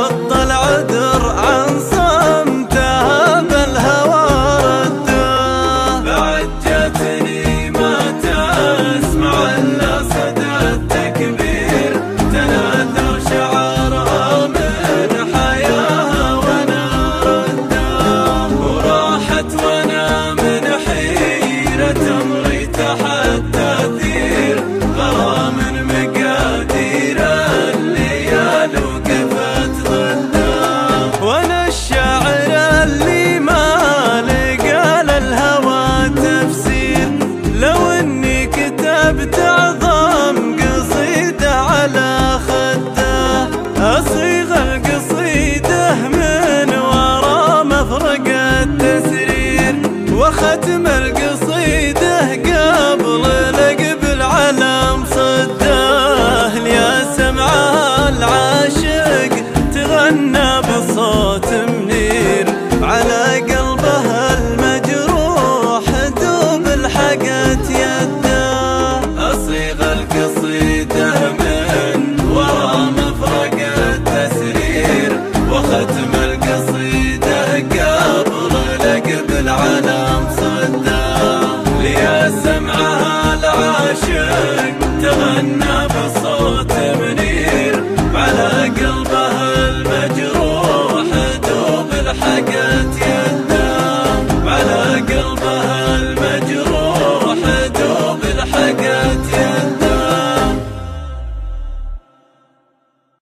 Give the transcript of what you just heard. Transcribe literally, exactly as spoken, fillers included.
بطل عذر عن صمتها بالهوى رده. بعد جاتني ما تسمع الا صدى التكبير، تناثر شعارها من حياها وانا رده. وراحت وانا من حيرة امري تحت تاثير غرام مقادير الليال وقفت ضده. وانا الشاعر اللي ما لقى للهوى تفسير، لو اني كتبت اعظم قصيدة على خده. اصيغ القصيدة من ورا مفرق التسرير، وختم القصيدة قبل لقب العلم صده. يا سمعها العاشق تغنى